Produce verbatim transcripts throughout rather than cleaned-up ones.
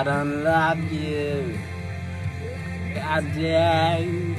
don't love you again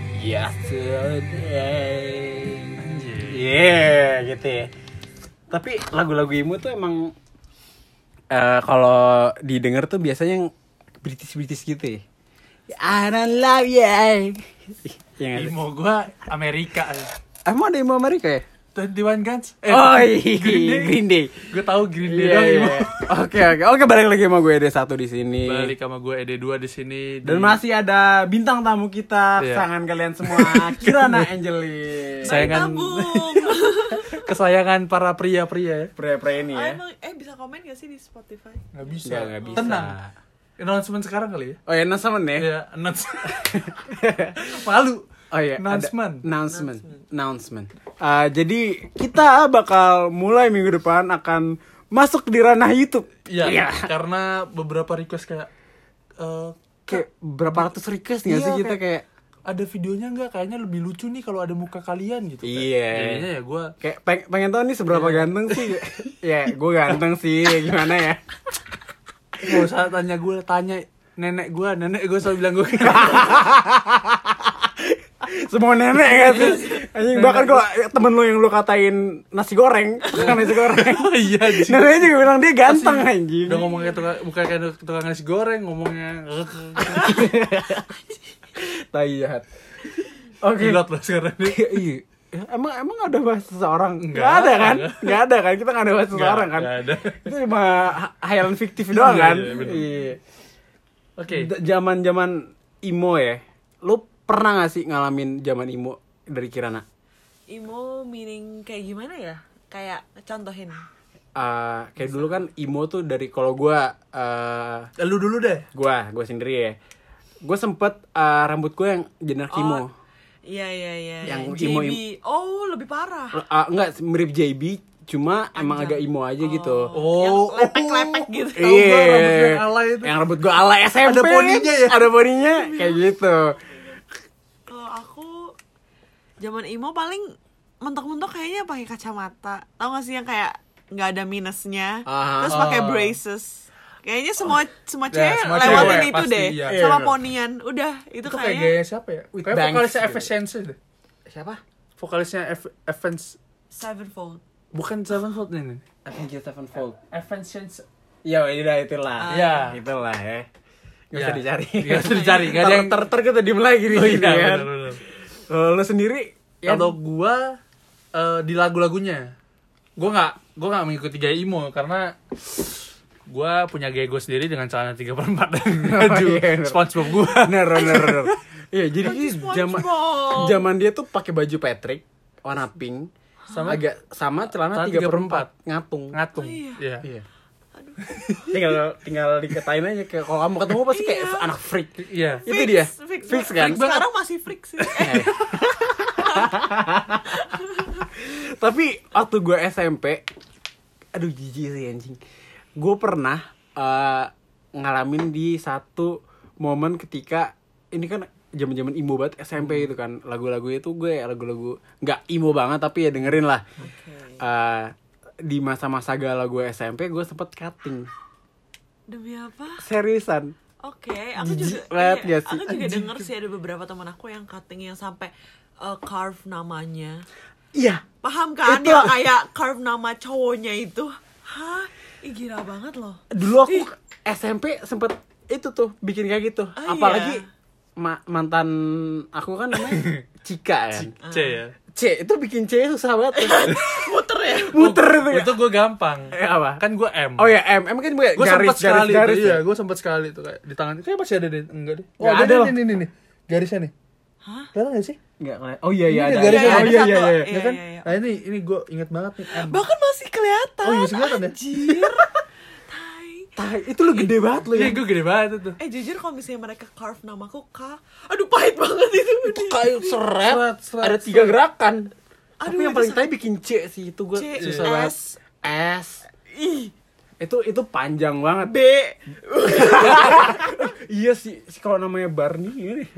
yesterday. Yeah, gitu ya. Tapi lagu-lagu emo tuh emang uh, kalau didengar tuh biasanya yang British-British gitu ya. I don't love you. Emo gue Amerika. Emang ada emo Amerika ya? Twenty One Guns. Eh, oh iya, Green Day. Green Day. Gue tahu Green Day yeah, dong. Yeah. Oke oke oke balik lagi sama gue E D satu di sini. Balik sama gue E D dua di sini. Dan di... masih ada bintang tamu kita, yeah. kesayangan kalian semua, Kirana Angelin. Kesayangan kesayangan para pria-pria ya. Pria-pria ini ya. Oh, emang, eh bisa komen gak sih di Spotify? Gak bisa. Gak, gak bisa. Tenang. Announcement sekarang kali ya. Oh ya, announcement ya. Iya, announcement. Malu. Oh iya, announcement. Announcement. Announcement. Uh, jadi kita bakal mulai minggu depan akan masuk di ranah YouTube. Iya. Yeah, karena beberapa request kayak uh, kayak berapa ratus request nggak iya, sih kita kayak, kayak ada videonya nggak? Kayaknya lebih lucu nih kalau ada muka kalian gitu. Iya. Jadinya ya gue kayak peng- pengen tahu nih seberapa yeah. ganteng sih. Ya, gue ganteng sih. Gimana ya? Gak usah tanya gue, tanya nenek gue. Nenek gue selalu bilang gue semua nenek gak sih? Anjing, bahkan kalau temen lu yang lu katain nasi goreng, bukan nasi goreng. Oh iya, neneknya juga bilang dia ganteng anjing. Udah ngomongnya tukang, bukan kayak tukang nasi goreng, ngomongnya tai jahat. Oke. Gilot lah sekarang nih. Iya. Emang emang ada bahas seseorang? Enggak ada kan? Enggak ada kan? Kita enggak ada bahas seseorang kan? Enggak ada. Itu cuma hayalan fiktif doang kan? Iya. Oke. Zaman-zaman emo ya. Lu pernah enggak sih ngalamin zaman emo dari Kirana? Emo meaning kayak gimana ya? Kayak contohin. Uh, kayak dulu kan emo tuh dari kalau gue uh, lu dulu deh. Gue, gue sendiri ya. Gue sempet uh, rambut gue yang jenis emo. Oh, iya iya iya. Yang J B. emo, oh lebih parah. Uh, enggak mirip J B, cuma Anjang. Emang agak emo aja oh. gitu. Oh, yang lepek-lepek gitu. Iya. Rambut yang alay itu. Yang rambut gue alay S M P. Ada poninya ya. Ada poninya kayak gitu. Kalau aku zaman emo paling mentok-mentok kayaknya pakai kacamata. Tahu gak sih yang kayak nggak ada minusnya, uh-huh. terus pakai braces. Kayaknya semua semua cewek ya, semua lewatin cewek, itu deh, iya. sama iya. ponian. Udah itu, itu kayaknya. Kayak gaya siapa ya? Kayak vokalisnya Evanescence deh. Siapa? Vokalisnya Evanescence. Sevenfold. Bukan Sevenfold ini. Avenged Sevenfold. Evanescence. Ya udah itulah. Iya. Uh, itulah ya. Gak usah ya. dicari. Gak usah dicari. Gak ada yang ter kita diem lagi nih. Oh, iya, kan. Kalau lo sendiri? Kalau ya, gua uh, di lagu-lagunya, gua nggak gua nggak mengikuti gaya emo karena gue punya gaya gue sendiri dengan celana tiga per empat dan baju oh, iya, SpongeBob gue. Bener, bener, bener. Iya, jadi zaman zaman dia tuh pakai baju Patrick warna pink sama agak sama celana tiga per empat ngatung. Ngatung. Oh, iya. Iya. iya. Aduh. tinggal tinggal dikatain aja kayak kalau kamu ketemu pasti kayak iya. anak freak. Iya. Itu fix, dia. Fix, fix kan? Fix sekarang masih freak sih. Tapi waktu gue S M P, aduh jijik sih anjing. Gue pernah uh, ngalamin di satu momen ketika ini kan zaman-zaman emo banget S M P itu kan, lagu-lagunya tuh gue lagu-lagu nggak emo banget tapi ya dengerin lah. Okay. Uh, di masa-masa galau gue S M P gue sempet cutting. Demi apa? Seriusan. Oke, okay, aku juga iya, aku juga denger sih ada beberapa teman aku yang cutting yang sampai uh, carve namanya. Iya. Paham kan? Itu yang kayak carve nama cowoknya itu. Hah? Ih gila banget loh. Dulu aku Ih. S M P sempet itu tuh bikin kayak gitu. Oh, apalagi iya. ma- mantan aku kan namanya Cika ya. C ya. C itu bikin C susah banget. Muter ya. Muter itu ya. Itu gue gampang. Eh apa? Kan gue M. Oh ya M. M kan gue garis garis sekali garis. Iya, gue sempet sekali tuh kayak di tangan. Kayak masih ada deh. Enggak deh. Oh, ada, ada nih nih nih. Garisnya nih. Hah? Kelihatan gak sih? Enggak kelihatan. Oh iya iya ada. Garisnya. Oh iya iya iya. Ya kan? Nah ini ini gue inget banget nih M. Bahkan masih kelihatan. Oh masih kelihatan ya? Anjir. Tai, itu lu gede banget lu ya. Iya, gue gede banget itu. Eh jujur kalau misalnya mereka carve namaku K, aduh pahit banget itu. Itu kayak seret, seret, seret ada tiga gerakan. Aduh, tapi yang paling tai bikin C sih, itu gue susah banget. S. S. Ih. Itu itu panjang banget. B. Iya sih, si kalau namanya Barney ini.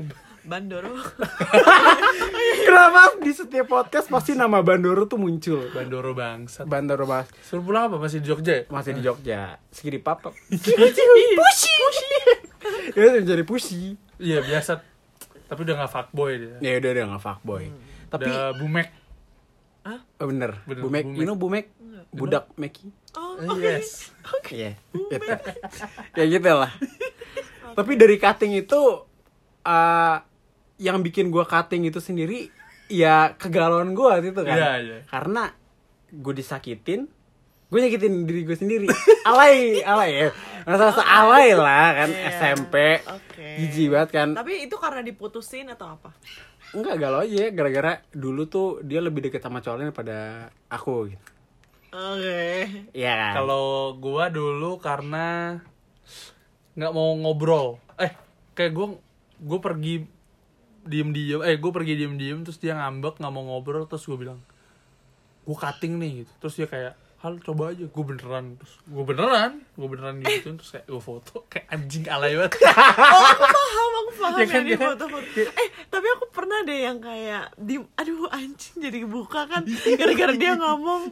Bandoro. Kenapa di setiap podcast pasti nama Bandoro tuh muncul? Bandoro bangsat. Bandoro Bas. Suruh pulang apa? Masih di Jogja ya? Masih di Jogja. Segini papa. Pushi. Ya jadi pushi. Iya biasa. Tapi udah gak fuckboy dia. Ya udah udah enggak fuckboy. Hmm. Tapi udah bumek. oh, bener. Bener, Bumek, Bumek. you know Bumek? Budak Meki. Oh, Uh, oke. Yes. Iya. Gitu. Ya gitu lah. Tapi dari cutting itu uh, yang bikin gua cutting itu sendiri ya kegalauan gua itu kan. Iya, iya. Karena gue disakitin, gue nyakitin diri gue sendiri. Alay, alay ya. Masa-masa alay lah kan Iya. S M P. Oke. Jijik banget kan. Tapi itu karena diputusin atau apa? Enggak, galau aja gara-gara dulu tuh dia lebih deket sama cowoknya daripada aku gitu. Oke. Iya kan? Kalau gua dulu karena nggak mau ngobrol. Eh, kayak gua gua pergi diem-diem. Eh, gua pergi diem-diem terus dia ngambek nggak mau ngobrol terus gua bilang, gua cutting nih gitu. Terus dia kayak, hal coba aja. Gua beneran. Terus gua beneran, gua beneran gitu. Terus kayak gua foto kayak anjing alay banget. Oh, aku paham, aku paham Ya kan, yang di ya kan? foto-foto. Eh, tapi aku pernah deh yang kayak di, aduh anjing jadi buka kan gara-gara dia ngomong.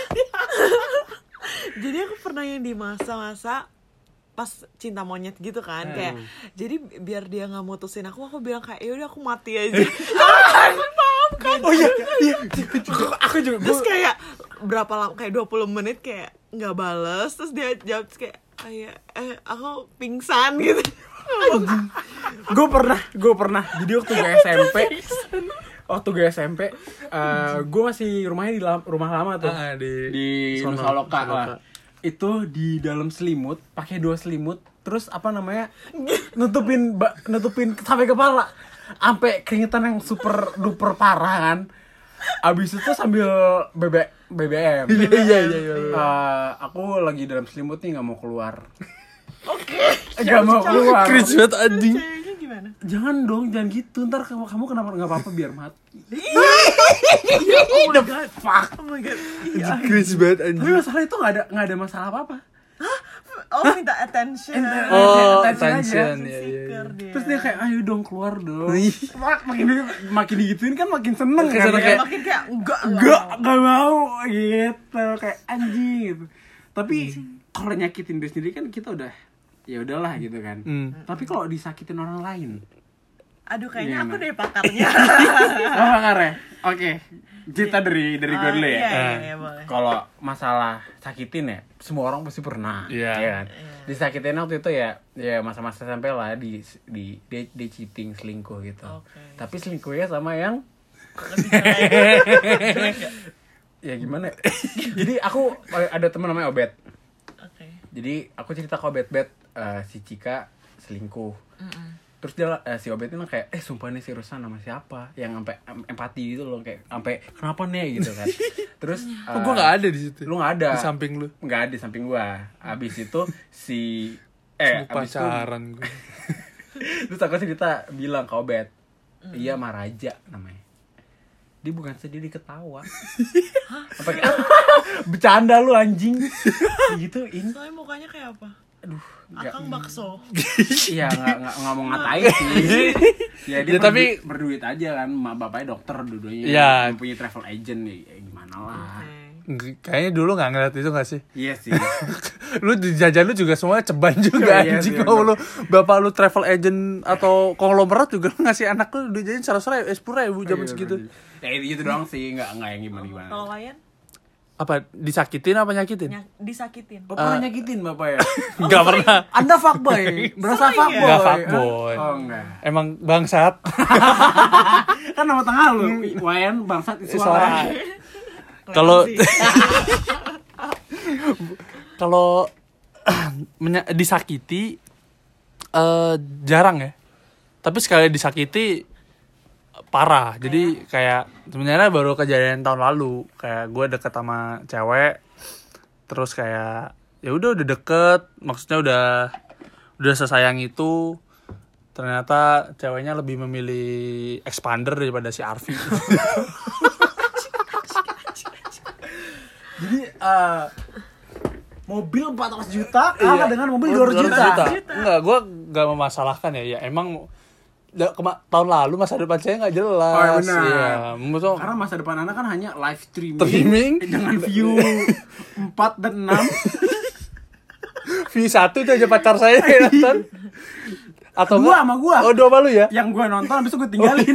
Jadi aku pernah yang di masa-masa pas cinta monyet gitu kan, Hmm. kayak jadi biar dia nggak mutusin aku, aku bilang kayak ya udah aku mati aja. Ah, aku paham kan? Oh iya, iya. Aku juga. Terus gua- kayak berapa lama, kayak dua puluh menit kayak nggak bales, terus dia jawab terus kayak kayak eh aku pingsan gitu. gue pernah gue pernah jadi waktu gue S M P waktu gue S M P uh, gue masih rumahnya di lam- rumah lama tuh Ah, di di sono, Nusa Loka Nusa lah. Loka. Itu di dalam selimut pakai dua selimut terus apa namanya nutupin ba- nutupin sampai kepala sampai keringetan yang super duper parah kan. Abis itu sambil B B B B M. Iya, iya, iya, iya. Uh, aku lagi dalam selimut nih nggak mau keluar. Oke. Nggak mau keluar. Cringe banget anjing. Ceweknya gimana? Jangan dong, jangan gitu. Ntar kamu kamu kenapa nggak apa-apa biar mati. Udah fuck. Oh my god. Iya. Cringe banget Tapi anjing. masalah itu nggak ada nggak ada masalah apa-apa. Oh, minta attention. Oh, Attention attention. aja. Iya, iya, iya. Dia. Terus dia kayak ayo dong keluar dong. Ih. Mak- makin di- makin digituin kan makin seneng Makin kan. seneng, Kayak, kayak- makin kayak enggak enggak enggak mau gitu kayak anjing gitu. Tapi kalau nyakitin diri sendiri kan kita udah ya udahlah gitu kan. Hmm. Tapi kalau disakitin orang lain, Aduh kayaknya Gimana? aku deh pakarnya. apa karya? Oke, cerita dari dari gue Oh, dulu ya. iya, iya, Ah. iya, boleh. Kalau masalah sakitin ya, semua orang pasti pernah. Iya. Ya kan? Disakitin waktu itu ya, ya masa-masa S M P lah di di di, di cheating selingkuh gitu. Oke. Tapi selingkuhnya sama yang Lebih jelek. ya gimana? Jadi aku ada teman namanya Obet. Oke. Jadi aku cerita ke Obet, Bet eh, si Cika selingkuh. Terus dia eh, si Obet ini kayak eh sumpah nih seriusan sama siapa yang sampai em- empati gitu loh kayak sampai kenapa nih gitu kan. Terus Kok eh, gua nggak ada di situ? Lu nggak ada Di samping lu. nggak ada di samping gua. Abis itu si eh Semua abis itu pacaran gue. terus aku cerita bilang ke Obet, iya Maraja namanya. Dia bukan sedih, dia ketawa. Apa kayak bercanda lu anjing. Gituin. Soalnya mukanya kayak apa? Aduh, nggak- Akang bakso. Iya nggak nggak nggak mau ngatain sih. Ya dia Ya, tapi- berdu- berduit aja kan, ma- bapaknya dokter dua-duanya. Iya. Mempunyai travel agent ya, ya gimana lah. Oke. Kayaknya dulu nggak ngeliat itu nggak sih? Iya sih. Lu di jajan lu juga semuanya ceban juga Iya anjing. sih, Kalau lu bener. bapak lu travel agent atau konglomerat juga lu ngasih anak lu duit jajan seratus ribu, sepuluh ribu zaman Iya, segitu. Ya itu gitu doang sih, nggak nggak yang gimana gimana. Kalau Wayan Apa disakitin apa nyakitin? nyak- disakitin. Bapak pernah nyakitin bapak ya? Nggak pernah. Anda fuckboy, berasa Sering ya? fuckboy. Nggak fuckboy. Oh enggak. Emang bangsat. Kan nama tengah lu, Wayan bangsat Suara. suara. Kalau Sih. kalau menya- disakiti eh, jarang ya. Tapi sekali disakiti parah. Jadi kayak sebenarnya baru kejadian tahun lalu. Kayak gue deket sama cewek, terus kayak ya udah udah deket, maksudnya udah udah sesayang itu. Ternyata ceweknya lebih memilih expander daripada si Arfi. Jadi eh, mobil empat ratus juta kalah dengan mobil dua ratus juta. Enggak, gue gak memasalahkan ya. Ya emang kema- tahun lalu masa depan saya nggak jelas. Oh, ya benar. Iya, maksudnya Karena masa depan anak kan hanya live streaming, Streaming. dengan view empat dan enam. view satu itu aja pacar saya yang nonton. Atau Dua enggak? sama gua. Oh, dua malu ya? Yang gue nonton habis itu gue tinggalin.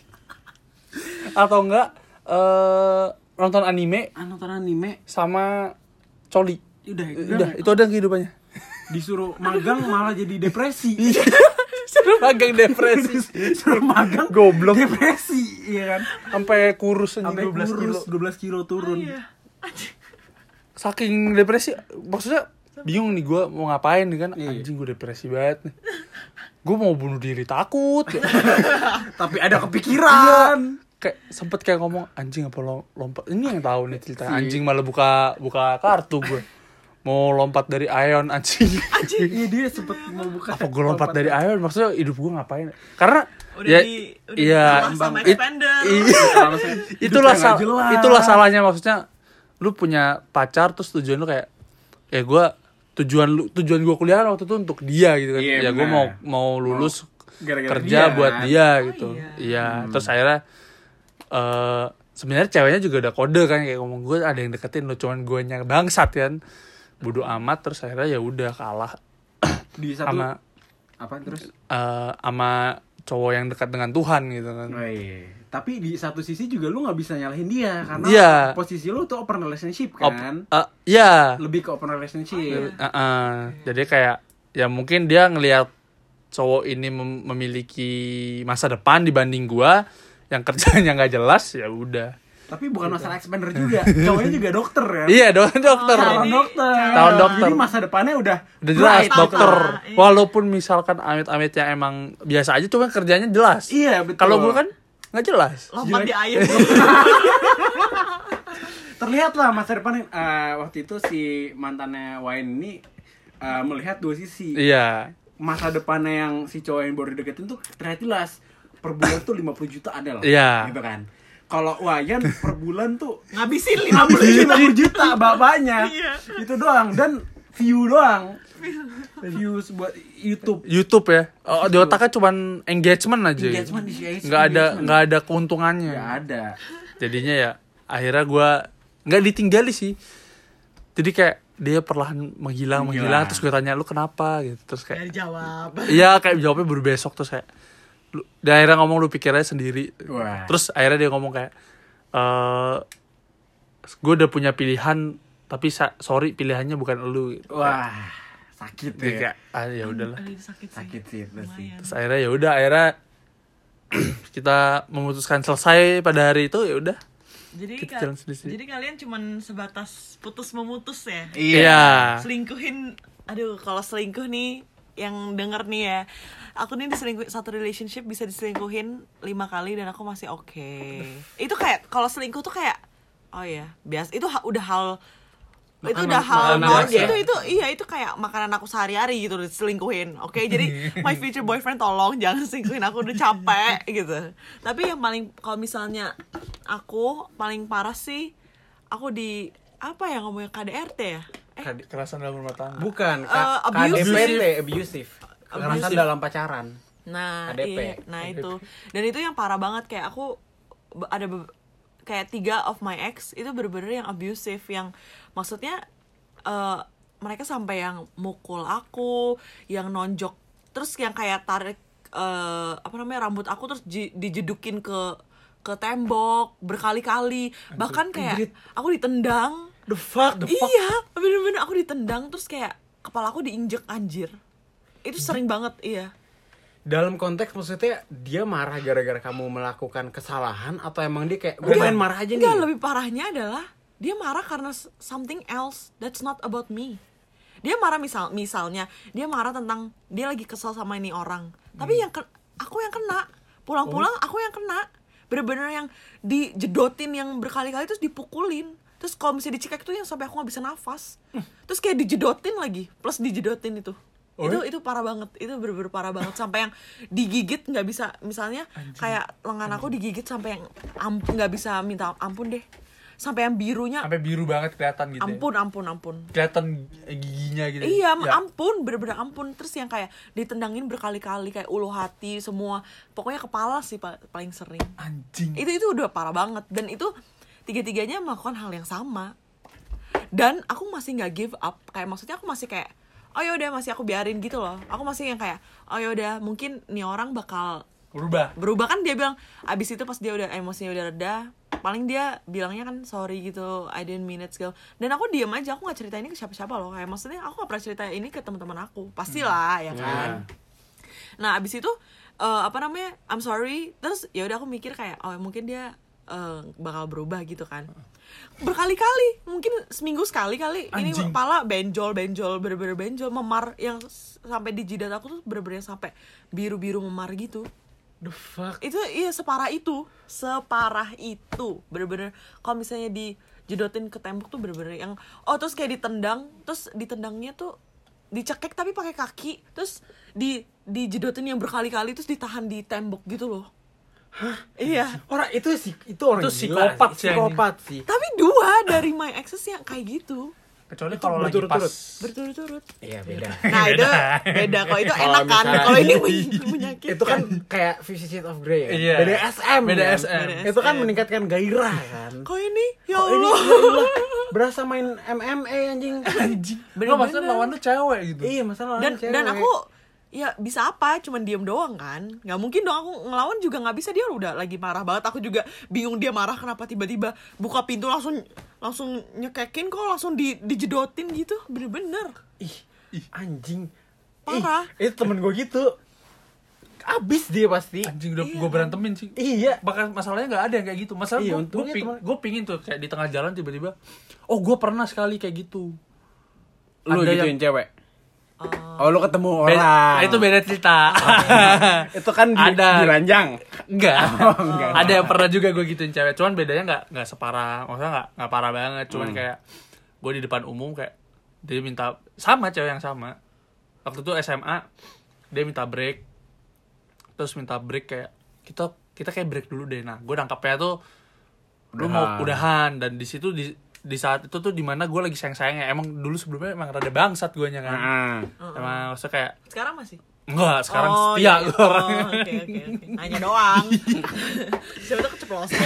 Atau enggak eh nonton anime Ah, nonton anime sama coli. udah Udah, itu ada kehidupannya. disuruh magang malah jadi depresi. Suruh magang depresi. Disuruh magang Goblok. depresi, iya kan? Sampai kurus anjing Sampai dua belas kilo. kurus dua belas kilo turun. Iya. Saking depresi, maksudnya bingung nih gue mau ngapain nih kan. Iya. Anjing gue depresi banget nih. Gue mau bunuh diri takut. Tapi ada kepikiran. Kayak sempet kayak ngomong anjing apa lo lompat. Ini yang tahu nih cerita. Si. Anjing malah buka buka kartu gue. Mau lompat dari Ion anjing. Iya, dia sempet mau buka. Apa gue lompat dari Ion? Maksudnya hidup gue ngapain? Karena Udah ya, di udah iya, di sama it- expander. iya. itulah Hidupnya nggak sal- jelas. itulah salahnya, maksudnya lu punya pacar terus tujuan lu kayak ya gue tujuan lu tujuan gue kuliah waktu itu untuk dia gitu kan. Iya, Ya gue benar. mau mau lulus Gara-gara kerja dia. buat dia Oh, gitu. iya. Iya, Hmm. terus akhirnya eh sebenarnya ceweknya juga udah kode kan kayak ngomong gue ada yang deketin lo, cuman gue nya bangsat kan. Bodo amat, terus akhirnya ya udah kalah Di satu sama apa terus? eh sama cowok yang dekat dengan Tuhan gitu kan. Oh, iya. Tapi di satu sisi juga lu nggak bisa nyalahin dia karena Iya. posisi lu tuh open relationship Op- kan. eh, iya. Lebih ke open relationship. Uh, uh, jadi kayak ya mungkin dia ngelihat cowok ini mem- memiliki masa depan dibanding gua yang kerjanya nggak jelas, ya udah. Tapi bukan masalah expander juga. Cowoknya juga dokter kan. Iya, dong dokter. Oh, Calon Jadi, dokter. calon dokter. Jadi masa depannya udah Udah jelas bright dokter. gitu. Iya. Walaupun misalkan amit-amitnya emang biasa aja, cuma kerjanya jelas. Iya, betul. Kalau gua kan nggak jelas. Lompat di air. Terlihat lah masa depan eh, waktu itu si mantannya Wayne ini eh, melihat dua sisi. Iya. Masa depannya yang si cowok yang baru deketin tuh terlihat jelas. Per bulan tuh lima puluh juta ada loh. Iya. Gitu kan. Kalau Wayan per bulan tuh Ngabisin lima puluh lima juta. puluh juta bapaknya. Iya. Itu doang dan view doang. Views buat YouTube. YouTube ya. Oh, di otaknya cuman engagement aja. Engagement di Nggak ada engagement. nggak ada keuntungannya. Nggak ada. Jadinya ya akhirnya gue nggak ditinggali sih, jadi kayak dia perlahan menghilang Menghilang. menghilang terus gue tanya lu kenapa gitu, terus Gak kayak dijawab. iya kayak jawabnya baru besok, terus kayak lu, dia akhirnya ngomong lu pikir aja sendiri. Wah. Terus akhirnya dia ngomong kayak eh gue udah punya pilihan tapi sa- sorry pilihannya bukan lu gitu. Wah, sakit Dia ya. kayak ah ya udahlah. Aduh, itu sakit sih. Sakit sih itu sih. Lumayan. Terus akhirnya ya udah akhirnya kita memutuskan selesai pada hari itu, ya udah. Jadi Kita ka- jalan sendiri. jadi kalian cuman sebatas putus memutus ya. Iya. Selingkuhin, aduh kalau selingkuh nih yang denger nih ya, aku nih diselingkuhin satu relationship bisa diselingkuhin lima kali dan aku masih oke. Itu kayak kalau selingkuh tuh kayak oh ya biasa, itu ha- udah hal itu Makanan- udah hal makanan normal. biasa. itu itu iya itu kayak makanan aku sehari-hari gitu diselingkuhin. Oke, jadi my future boyfriend tolong jangan selingkuhin aku, udah capek gitu. Tapi yang paling kalau misalnya aku paling parah sih aku di apa ya ngomongnya K D R T ya? Eh, Kekerasan dalam rumah tangga. Bukan, Eh, K- abusive. K D P T, abusive. Kekerasan Abusive. dalam pacaran. Nah, K D P. iya, nah itu. Dan itu yang parah banget, kayak aku be- ada be- kayak tiga of my ex itu bener-bener yang abusive, yang maksudnya eh, mereka sampai yang mukul aku, yang nonjok, terus yang kayak tarik eh, apa namanya rambut aku terus ji- dijedukin ke ke tembok berkali-kali, bahkan kayak anjrit. aku ditendang. The fuck, the fuck. Iya, bener-bener aku ditendang terus kayak kepala aku diinjek, anjir. Itu sering banget, iya. Dalam konteks maksudnya dia marah gara-gara kamu melakukan kesalahan atau emang dia kayak gue pengen marah aja nih. Enggak, lebih parahnya adalah dia marah karena s- something else that's not about me. Dia marah misal misalnya dia marah tentang dia lagi kesel sama ini orang. Tapi yang ke- aku yang kena. Pulang-pulang aku yang kena. Bener-bener yang dijedotin yang berkali-kali terus dipukulin. Terus kalau misalnya dicekek tuh yang sampai aku gak bisa nafas. Terus kayak dijedotin lagi, plus dijedotin itu. Oh, itu ya? itu parah banget, itu bener-bener parah banget sampai yang digigit nggak bisa, misalnya kayak lengan aku digigit sampai yang am- nggak bisa minta ampun deh, sampai yang birunya sampai biru banget kelihatan gitu. ampun ya. ampun ampun Kelihatan giginya gitu. iya ya. ampun bener-bener ampun. Terus yang kayak ditendangin berkali-kali kayak ulu hati semua, pokoknya kepala sih pa- paling sering. Anjing. Itu itu udah parah banget. Dan itu tiga-tiganya melakukan hal yang sama. Dan aku masih nggak give up. Kayak maksudnya aku masih kayak, oh yaudah masih aku biarin gitu loh. Aku masih yang kayak, oh yaudah mungkin nih orang bakal Berubah. berubah. Kan dia bilang abis itu pas dia udah emosinya udah reda, paling dia bilangnya kan sorry gitu, I didn't mean it segala. Dan aku diem aja, aku nggak cerita ini ke siapa-siapa loh. Kayak maksudnya aku nggak pernah cerita ini ke teman-teman aku, pastilah ya kan. Nah abis itu uh, apa namanya, I'm sorry. Terus ya udah aku mikir kayak, oh mungkin dia uh, bakal berubah gitu kan. Berkali-kali, mungkin seminggu sekali kali. Ini Anjing. kepala benjol benjol bener-bener benjol, memar yang s- sampai di jidat aku tuh bener-bener sampai biru-biru memar gitu. The fuck. Itu iya separah itu, separah itu, bener-bener kalau misalnya dijedotin ke tembok tuh bener-bener yang, oh terus kayak ditendang, terus ditendangnya tuh dicekek tapi pakai kaki, terus di dijedotin yang berkali-kali, terus ditahan di tembok gitu loh. Hah? Iya. Orang itu sih itu orang Itu gila psikopat sih, sih, psikopat sih. Tapi dua dari my exes yang kayak gitu, Kecuali kalau lagi berturut-turut. pas. berturut-turut. Iya beda. Nah itu beda, kalau itu Kalau enak kan, misalnya- kalau ini men- menyakitkan. Itu kan kayak Fifty Shades of Grey ya. Iya. B D S M. B D S M. kan? B D S M. Itu kan meningkatkan gairah kan. Kok ini ya Kok ini Allah. ya Allah, berasa main M M A anjing. Anjing. Bener-bener. Lo maksudnya lawan lu cewek gitu. Iya, masalah dan cewek. dan aku ya bisa apa, cuman diem doang kan, nggak mungkin dong aku ngelawan juga nggak bisa. Dia udah lagi marah banget, aku juga bingung dia marah kenapa tiba-tiba buka pintu langsung langsung nyekekin, kok langsung di dijedotin gitu, bener-bener ih, ih anjing. Parah. Ih, itu temen gue gitu. Abis dia pasti. Anjing udah Iya, gue berantemin sih. Iya. Bahkan masalahnya nggak ada yang kayak gitu. Masalah Iya, gue untungnya ping, teman- gue pingin tuh kayak di tengah jalan tiba-tiba, oh gue pernah sekali kayak gitu. Lu Ada gituin cewek. uh, Oh, lu ketemu Be- orang. itu beda cerita. Itu kan di, Ada. di ranjang. Enggak. Oh, enggak. Ada yang pernah juga gue gituin cewek. Cuman bedanya nggak nggak separah. Maksudnya nggak nggak parah banget. Cuman Hmm. kayak gue di depan umum kayak dia minta sama cewek yang sama. Waktu itu S M A dia minta break. Terus minta break kayak kita kita kayak break dulu deh. Nah, gue nangkapnya tuh lu mau Udahan. udahan, dan di situ di di saat itu tuh dimana gue lagi sayang-sayangnya. Emang dulu sebelumnya emang rada bangsat guanya kan. Nah. Emang maksudnya kayak sekarang masih enggak, sekarang Oh, setia iya. gue Oh, orangnya. oke oke oke, nanya doang. Siapa tuh keceplosan.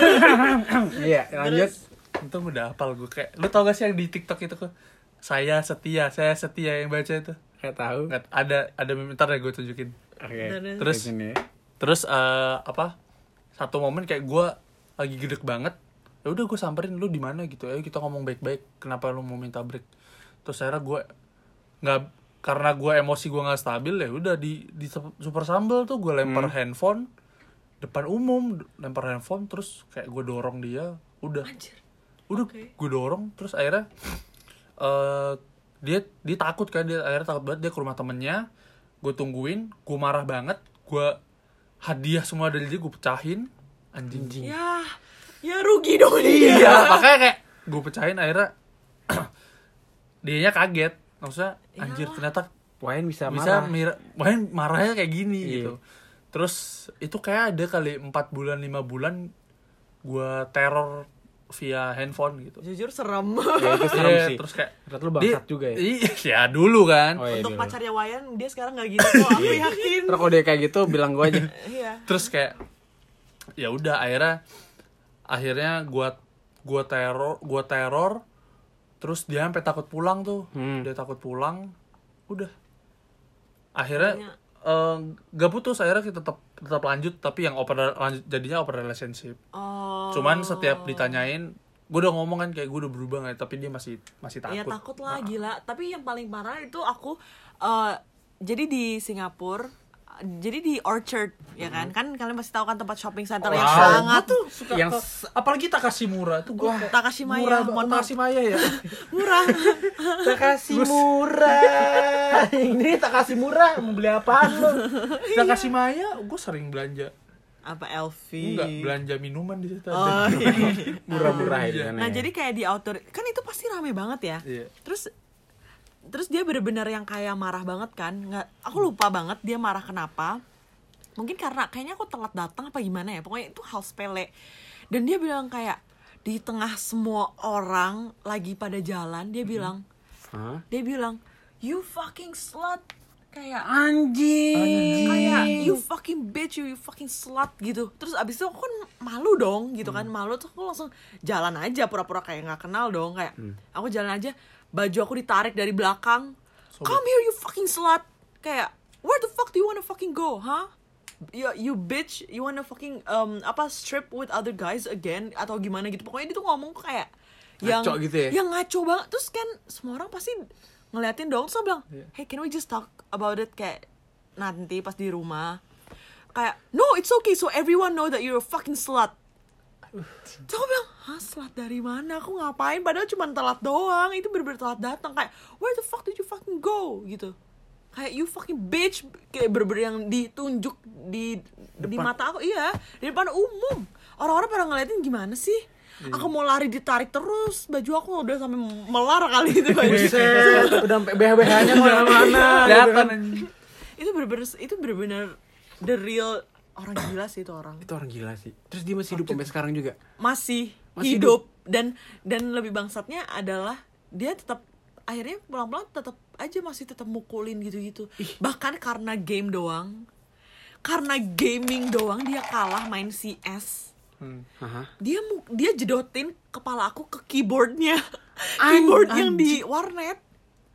Iya, lanjut. Untung udah hafal gue kayak, lu tau gak sih yang di TikTok itu kok, saya setia, saya setia, yang baca itu. Kayak tahu. Nggak, ada ada bentar ya gue tunjukin. Oke. Terus Di sini. terus eh, apa? Satu momen kayak gue lagi gedek banget. Ya udah gue samperin, lu di mana gitu. Ayo kita ngomong baik-baik. Kenapa lu mau minta break? Terus akhirnya gue nggak, karena gue emosi gue nggak stabil, ya udah di di super sambel tuh gue lempar Hmm. handphone depan umum, lempar handphone, terus kayak gue dorong dia, udah. Anjir. Udah Oke. gue dorong, terus akhirnya eh dia dia takut kan, dia akhirnya takut banget, dia ke rumah temennya. Gue tungguin, gue marah banget, gue hadiah semua dari dia gue pecahin, anjing. Ya, ya rugi dong dia. Iya, makanya kayak gue pecahin, akhirnya dianya kaget, maksudnya anjir Iyalah. ternyata Wain bisa bisa marah. mir- main marahnya kayak gini Iya. gitu. Terus itu kayak ada kali empat bulan lima bulan gue teror via handphone gitu. Jujur serem. Ya, itu serem Iya, sih. terus kayak Ternyata lu bangsat juga ya. Iya, ya dulu kan. Oh, iya, Untuk dulu. pacarnya Wayan, dia sekarang gak gini kok, aku yakin. Terus kalau dia kayak gitu bilang gue aja. Iya. Terus kayak ya udah akhirnya akhirnya gua gua teror, gua teror terus dia sampai takut pulang tuh. Hmm. Dia takut pulang. Udah. Akhirnya Akhirnya- eh, gak putus, akhirnya kita tetap tetap lanjut, tapi yang open lanjut, jadinya open relationship. Oh. Cuman setiap ditanyain, gue udah ngomong kan kayak gue udah berubah nggak, tapi dia masih masih takut. Ya takut lah, Nah, gila. Tapi yang paling parah itu aku eh, jadi di Singapura, jadi di Orchard ya kan, kan kalian pasti tahu kan tempat shopping center yang Wow, sangat gua tuh suka yang ke- s- apalagi Takashimura tuh gue Takashimaya, murah, mohon maaf. Takashimaya ya. murah. Tak kasih murah. Ini tak kasih murah. Mau beli apaan lu? Takashimaya gue sering belanja. Apa L V? Enggak, belanja minuman di situ. Oh, ada. iya. Murah-murah itu kan. Nah ya. jadi kayak di outdoor kan itu pasti rame banget ya. Iya. Terus terus dia bener-bener yang kayak marah banget kan. Nggak, aku lupa banget dia marah kenapa. Mungkin karena kayaknya aku telat datang apa gimana ya. Pokoknya itu hal sepele. Dan dia bilang kayak, di tengah semua orang lagi pada jalan dia bilang, Hah? dia bilang, you fucking slut, kayak anjing, kayak you fucking bitch, you, you fucking slut gitu. Terus abis itu aku kan malu dong gitu kan, malu tuh aku langsung jalan aja pura-pura kayak nggak kenal dong, kayak hmm. aku jalan aja, baju aku ditarik dari belakang, so, come here you fucking slut, kayak where the fuck do you wanna fucking go, huh? You, you bitch, you wanna fucking um apa strip with other guys again atau gimana gitu. Pokoknya dia tuh ngomong kayak yang ngaco gitu ya? Yang ngaco banget. Terus kan semua orang pasti ngeliatin dong. Terus bilang, hey can we just talk about it kayak nanti pas di rumah. Kayak no it's okay so everyone know that you're a fucking slut. Terus aku bilang, hah slut dari mana? Aku ngapain? Padahal cuma telat doang. Itu bener-bener telat datang. Kayak where the fuck did you fucking go? Gitu. Kayak you fucking bitch, kayak bener-bener yang ditunjuk di depan. Di mata aku, iya di depan umum. Orang-orang pada ngeliatin gimana sih? Iya. Aku mau lari ditarik terus, baju aku udah sampai melar kali itu baju. Udah sampai B H B H-nya kemana-mana. Kelihatan. Itu bener-bener, itu bener-bener the real orang gila sih itu orang. Itu orang gila sih. Terus dia masih hidup sampai sekarang juga. Masih, masih hidup. hidup dan dan lebih bangsatnya adalah dia tetap akhirnya pelan-pelan tetap aja masih tetap mukulin gitu-gitu. Ih. Bahkan karena game doang, karena gaming doang dia kalah main C S. Hmm. Uh-huh. Dia dia jedotin kepala aku ke keyboardnya, keyboard An- yang di warnet,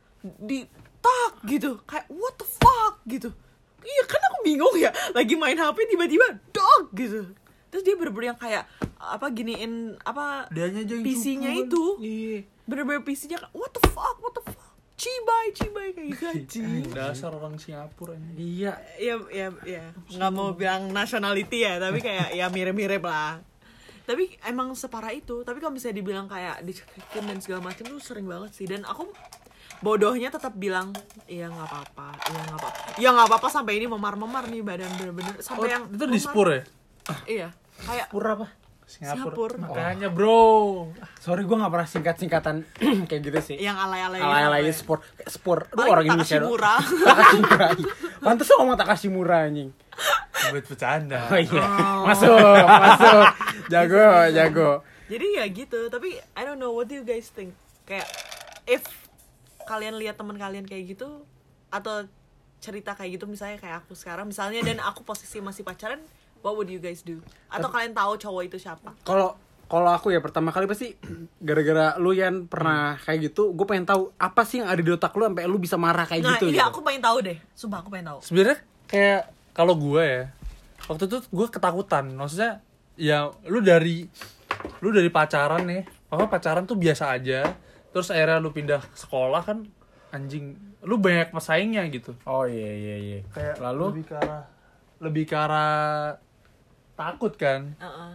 di tak gitu, kayak what the fuck gitu. Iya kan aku bingung ya, lagi main H P tiba-tiba dog gitu. Terus dia bener-bener yang kayak apa giniin apa P C-nya itu. Iya. Bener-bener P C-nya what the fuck, what the fuck. Cibai, cibai kayak gaji. Dasar orang Singapura ini. Iya, iya, iya, iya. Nggak mau bilang nationality ya, tapi kayak ya mirip-mirip lah. Tapi emang separah itu. Tapi kalau misalnya dibilang kayak dicekin dan segala macam tuh sering banget sih. Dan aku bodohnya tetap bilang, iya nggak apa-apa, iya nggak apa-apa, iya nggak apa-apa sampai ini memar-memar nih badan bener-bener sampai oh, yang itu di Spur ya? Iya, kayak Spur apa? Singapura. Singapura. Makanya bro. Sorry gue gak pernah singkat-singkatan kayak gitu sih. Yang alay-alay alay-alay gitu, sport. Sport. Aduh orang Indonesia dong. Takashimura. Pantes lo ngomong Takashimura anjing. Buat bercanda. Oh iya. Oh. Masuk, masuk. Jago, jago. Jadi ya gitu, tapi I don't know, what do you guys think? Kayak if kalian lihat teman kalian kayak gitu atau cerita kayak gitu misalnya kayak aku sekarang misalnya dan aku posisi masih pacaran, what would you guys do? Atau kalian tahu cowok itu siapa? Kalau kalau aku ya pertama kali pasti gara-gara lu Yan pernah hmm. kayak gitu, gue pengen tahu apa sih yang ada di otak lu sampai lu bisa marah kayak nah, gitu. Nah, iya gitu. aku pengen tahu deh. Sumpah aku pengen tahu. Sebenarnya kayak kalau gue ya, waktu itu gue ketakutan. Maksudnya ya lu dari lu dari pacaran nih, apa pacaran tuh biasa aja. Terus akhirnya lu pindah sekolah kan anjing, lu banyak pesaingnya gitu. Oh iya iya iya. Kayak lalu lebih ke arah lebih ke arah takut kan. Uh-uh.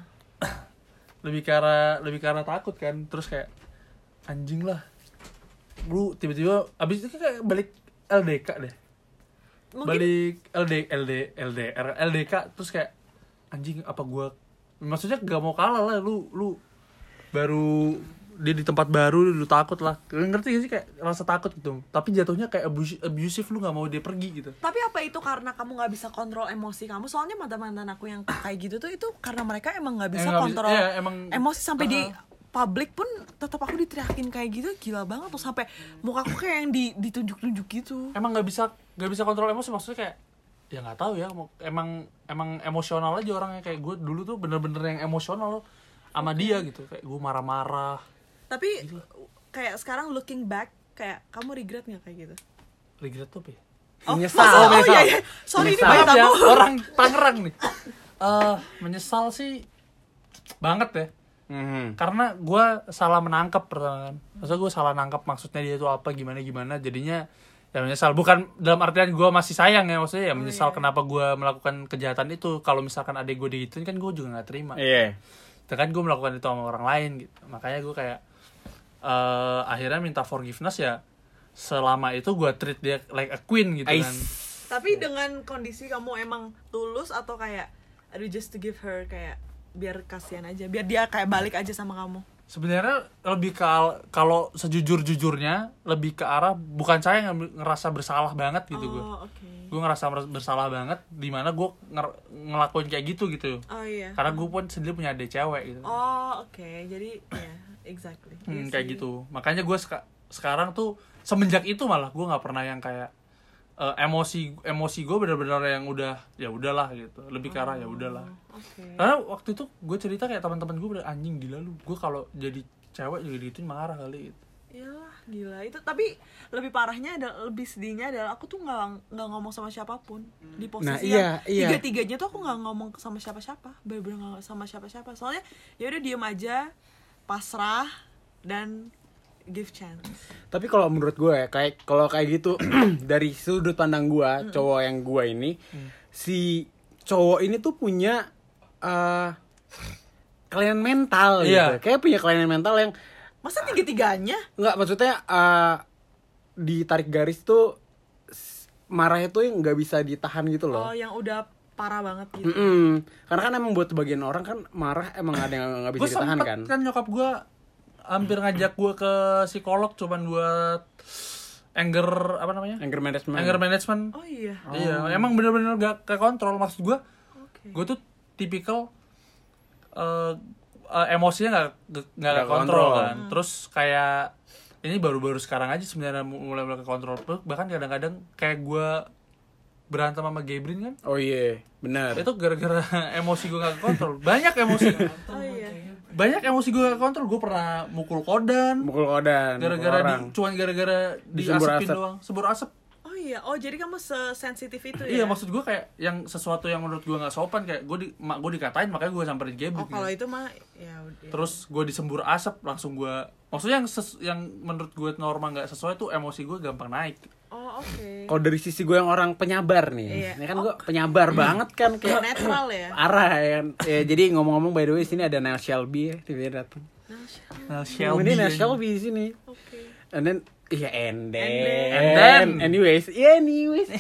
lebih ke arah lebih ke arah takut kan. Terus kayak anjing lah. Lu tiba-tiba abis itu kayak balik L D K deh. Mungkin... Balik L D L D L D R L D K terus kayak anjing apa gua maksudnya gak mau kalah lah lu lu baru dia di tempat baru lu takut lah. Ngerti gak sih kayak rasa takut gitu. Tapi jatuhnya kayak abusive, lu gak mau dia pergi gitu. Tapi apa itu karena kamu gak bisa kontrol emosi kamu? Soalnya mantan-mantan aku yang kayak gitu tuh itu karena mereka emang gak bisa emang kontrol bisa, ya, emang, emosi sampai uh, di publik pun tetap aku diteriakin kayak gitu gila banget tuh sampai muka aku kayak yang di, ditunjuk-tunjuk gitu. Emang gak bisa gak bisa kontrol emosi maksudnya kayak ya nggak tahu ya emang emang emosional aja orangnya kayak gue dulu tuh bener-bener yang emosional sama dia gitu kayak gue marah-marah. Tapi gila. Kayak sekarang looking back kayak kamu regret nggak kayak gitu? Regret tuh apa? Oh, menyesal. Oh, menyesal. iya, iya. Sorry menyesal. ini banyak ya, aku. Orang Tangerang nih. Uh, menyesal sih banget ya. Mm-hmm. Karena gue salah menangkap pertama kan. Maksudnya gue salah nangkap maksudnya dia tuh apa gimana gimana jadinya ya menyesal. Bukan dalam artian gue masih sayang ya maksudnya ya menyesal oh, iya. Kenapa gue melakukan kejahatan itu. Kalau misalkan adek gue digituin kan gue juga nggak terima. Iya. Yeah. Kan gue melakukan itu sama orang lain gitu. Makanya gue kayak uh, akhirnya minta forgiveness ya. Selama itu gue treat dia like a queen gitu kan. Tapi dengan kondisi kamu emang tulus atau kayak aduh just to give her kayak biar kasihan aja, biar dia kayak balik aja sama kamu. Sebenarnya lebih ke kalau sejujur-jujurnya lebih ke arah bukan saya yang ngerasa bersalah banget gitu gue. Oh, okay. Gue ngerasa bersalah banget di mana gue nger- ngelakuin kayak gitu gitu. Oh iya. Karena gue pun sendiri punya adik cewek gitu. Oh, oke. Okay. Jadi ya, yeah, exactly. Hmm, Yes, kayak gitu. Makanya gue seka- sekarang tuh semenjak itu malah gue nggak pernah yang kayak uh, emosi emosi gue benar-benar yang udah ya udahlah gitu. Lebih ke arah ya udahlah. Okay. Karena waktu itu gue cerita kayak teman-teman gue udah anjing gila lu. Gue kalau jadi cewek juga gitu marah kali gitu. Iyalah, gila itu. Tapi lebih parahnya adalah, lebih sedihnya adalah aku tuh nggak nggak ngomong sama siapapun di posisi Nah, yang iya, iya. tiga-tiganya tuh aku nggak ngomong sama siapa-siapa, bener-bener nggak sama siapa-siapa. Soalnya ya udah diem aja, pasrah dan give chance. Tapi kalau menurut gue ya, kayak kalau kayak gitu dari sudut pandang gue, mm. cowok yang gue ini, mm. si cowok ini tuh punya uh, kelainan mental gitu. Iya. Kayak punya kelainan mental yang masa tiga-tiganya? Enggak, maksudnya uh, ditarik garis tuh marahnya tuh yang nggak bisa ditahan gitu loh. Oh, yang udah parah banget gitu. Mm-mm. Karena kan emang buat sebagian orang kan marah emang ada yang nggak bisa Gua ditahan sempet, kan. kan nyokap gue hampir ngajak gue ke psikolog cuman buat anger apa namanya? Anger management. Anger management. Oh iya. Oh. Iya, emang bener-bener gak ke kontrol. Maksud gue, Okay. gue tuh tipikal uh, uh, emosinya gak, gak, Gak ke kontrol kontrol. kan. Terus kayak ini baru-baru sekarang aja sebenarnya mulai-mulai ke kontrol. Bahkan kadang-kadang kayak gue berantem sama Gebrin kan. Oh iya, benar. Itu gara-gara emosi gue gak ke kontrol. Banyak emosi. Oh iya. Banyak emosi gue gak ke kontrol. Gue pernah mukul kodan. Mukul kodan. Gara-gara mukul di, orang. cuman gara-gara Disembur diasepin asap. doang. Sebur asap. Oh iya. Oh jadi kamu sesensitif itu ya? Iya, maksud gue kayak yang sesuatu yang menurut gue gak sopan, kayak gue di, mak gue dikatain makanya gue samperin Gebrin. Oh kalau gitu. itu mah ya udah. Terus gue disembur asap langsung gue, maksudnya yang ses, yang menurut gue normal nggak sesuai tuh emosi gue gampang naik. Oh oke. Okay. Kalau dari sisi gue yang orang penyabar nih, Iya. ini kan Oh. gue penyabar banget kan kayak Netral ya. parah ya kan. Ya, jadi ngomong-ngomong by the way sini ada Nell Shelby ya, tiba-tiba datang. Nah, Ini Nell Shelby di sini. Oke. And then iya and then, And then. anyways, yeah anyways.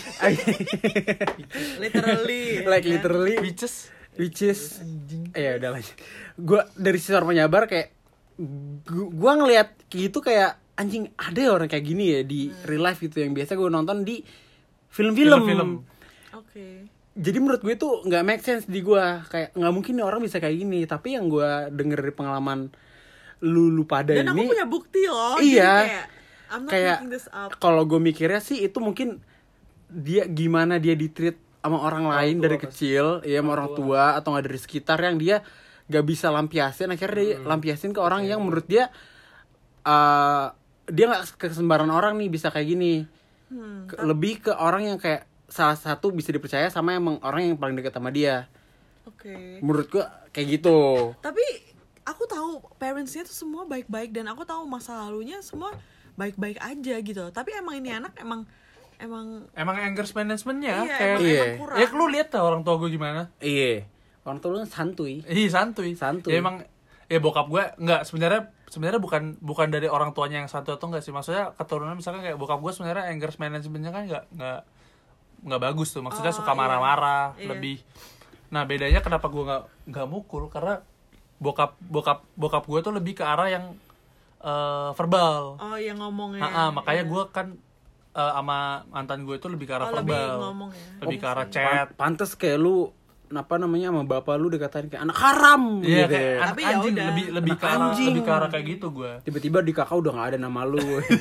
Literally. like ya kan? literally Bitches. which is ya udah lanjut. Gue dari sisi orang penyabar kayak gu- gua ngelihat gitu kayak anjing ada ya orang kayak gini ya di real life gitu yang biasa gue nonton di film-film. Film-film. Oke. Jadi menurut gue itu nggak make sense di gue, kayak nggak mungkin nih orang bisa kayak gini. Tapi yang gue denger dari pengalaman lu lu pada Dan ini, aku punya bukti loh. iya. Jadi kayak I'm not kayak making this up. kalau gue mikirnya sih itu mungkin dia gimana dia ditreat sama orang lain tua dari pasti. kecil, ya sama orang tua atau nggak dari sekitar yang dia gak bisa lampiasin, akhirnya dia Hmm. lampiasin ke orang yang menurut dia uh, dia nggak ke sembarangan orang nih bisa kayak gini. Hmm, Ke- lebih ke orang yang kayak salah satu bisa dipercaya sama emang orang yang paling dekat sama dia. Oke. Menurut gue kayak gitu. Tapi aku tahu parentsnya tuh semua baik-baik dan aku tahu masa lalunya semua baik-baik aja gitu. Tapi emang ini anak emang emang Emang anger managementnya iya, kayak emang, Iya. emang kurang. ya lu lihat tuh orang tua gue gimana. Iya. Orang tua lu kan santuy. Ih santuy. Santuy. Ya emang ya bokap gue nggak sebenarnya sebenarnya bukan bukan dari orang tuanya yang santuy atau enggak sih, maksudnya keturunan misalkan kayak bokap gue sebenarnya anger managementnya kan nggak nggak nggak bagus tuh, maksudnya Oh, suka iya. marah-marah Iya. lebih. Nah bedanya kenapa gue nggak nggak mukul karena bokap bokap bokap gue tuh lebih ke arah yang eh, verbal. Oh yang ngomongnya. Ah, ah, makanya Iya. gue kan eh, sama mantan gue itu lebih ke arah Oh, lebih verbal, ngomong ya. lebih ke arah Iya. chat. Pan- Pantes kayak lu apa namanya sama bapak lu dikatain kayak anak haram Iya gitu. kayak ya. anak Tapi ya anjing udah. lebih lebih Anak ke arah anjing. lebih ke arah kayak gitu gue. Tiba-tiba di kakak udah nggak ada nama lu.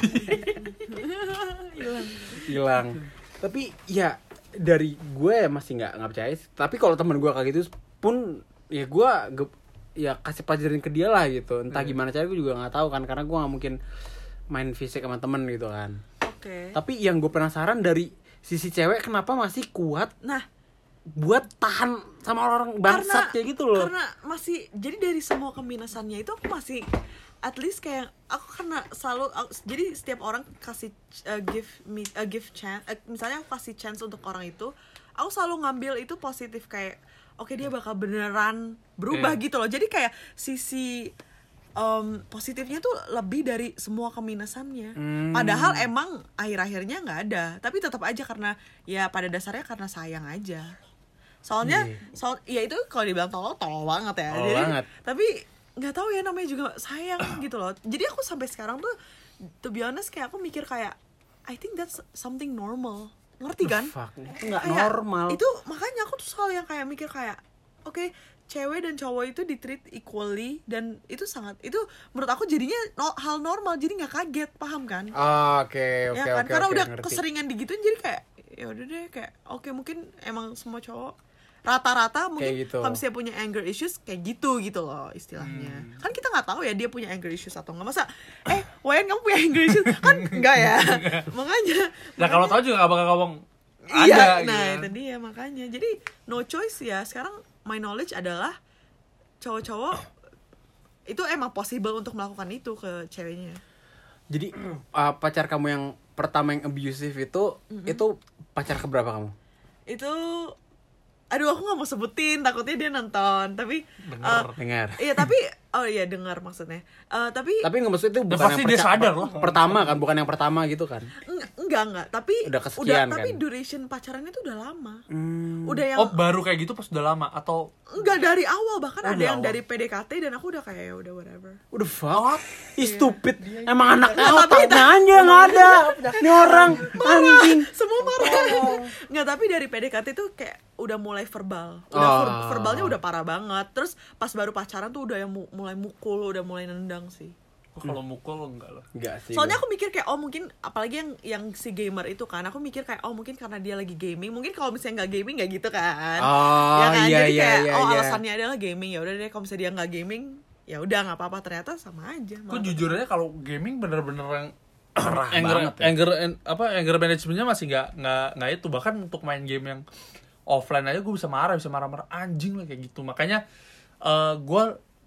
Hilang. Tapi ya dari gue ya masih nggak nggak percaya sih. Tapi kalau teman gue kayak gitu pun ya gue ge- ya kasih pelajarin ke dia lah gitu. Entah Iya. gimana cara gue juga nggak tahu kan, karena gue nggak mungkin main fisik sama temen gitu kan. Oke. Tapi yang gue penasaran dari sisi cewek kenapa masih kuat Nah, buat tahan sama orang bangsat kayak gitu loh. Karena masih jadi dari semua keminosannya itu aku masih at least kayak aku karena selalu aku- jadi setiap orang kasih uh, give me uh, give chance uh, misalnya aku kasih chance untuk orang itu, aku selalu ngambil itu positif kayak oke dia bakal beneran berubah Iya. gitu loh. Jadi kayak sisi um, positifnya tuh lebih dari semua keminosannya. Hmm. Padahal emang akhir-akhirnya nggak ada, tapi tetap aja karena ya pada dasarnya karena sayang aja. Soalnya Iya. soal ya itu kalau dibilang tolol tolol banget ya. Tolol Jadi, banget. tapi nggak tahu ya, namanya juga sayang gitu loh. Jadi aku sampai sekarang tuh to be honest kayak aku mikir kayak I think that's something normal, ngerti kan? Fuck, itu nggak Kayak, normal. itu makanya aku tuh selalu yang kayak mikir kayak oke okay, cewek dan cowok itu di-treat equally, dan itu sangat, itu menurut aku jadinya no, hal normal, jadi nggak kaget, paham kan? Oke oke Ya kan, oke. karena oke, udah ngerti. keseringan digituin jadi kayak ya udah deh kayak oke okay, mungkin emang semua cowok rata-rata mungkin gitu. kalau misalnya punya anger issues kayak gitu gitu loh istilahnya. Hmm. Kan kita nggak tahu ya dia punya anger issues atau nggak, masa eh Wayan kamu punya anger issues kan enggak ya. makanya Nah kalau tahu juga gak bakal ngomong iya, ada nah gitu. itu dia makanya. Jadi no choice ya. Sekarang my knowledge adalah cowok-cowok itu emang possible untuk melakukan itu ke ceweknya. Jadi uh, pacar kamu yang pertama yang abusive itu mm-hmm. itu pacar keberapa kamu? Itu aduh aku nggak mau sebutin takutnya dia nonton, tapi dengar uh, dengar. Iya tapi oh iya dengar maksudnya. Uh, tapi Tapi nggak maksud itu bukan pasti yang dia perca- sadar loh. pertama kan, bukan yang pertama gitu kan? Enggak, enggak, enggak. Tapi Udah kesekian udah, kan? tapi duration pacarannya tuh udah lama. Hmm. Udah yang Oh baru kayak gitu pas udah lama atau enggak dari awal, bahkan Oh, ada dari yang awal. dari P D K T dan aku udah kayak ya udah whatever. Udah fuck. Ih Iya. stupid. Emang anaknya Nggak, tapi- otaknya aja nggak ada. Ini orang anjing. Semua marah. Enggak, tapi dari P D K T tuh kayak udah mulai verbal. Udah Oh. ver- verbalnya udah parah banget. Terus pas baru pacaran tuh udah yang mu- mulai mukul, udah mulai nendang sih. oh, kalau mukul enggak lah. Enggak sih. Soalnya gua. aku mikir kayak oh mungkin apalagi yang yang si gamer itu kan, aku mikir kayak oh mungkin karena dia lagi gaming, mungkin kalau misalnya nggak gaming nggak gitu kan. Oh, Ya kan, iya, jadi iya, kayak iya, oh iya. alasannya adalah gaming, ya udah deh kalau misalnya dia nggak gaming ya udah nggak apa-apa, ternyata sama aja. Gue malah. jujur aja kalau gaming bener-bener yang Parah anger banget ya. anger en- apa anger managementnya masih nggak nggak nggak itu, bahkan untuk main game yang offline aja gue bisa marah bisa marah-marah anjing lah kayak gitu. Makanya uh, gue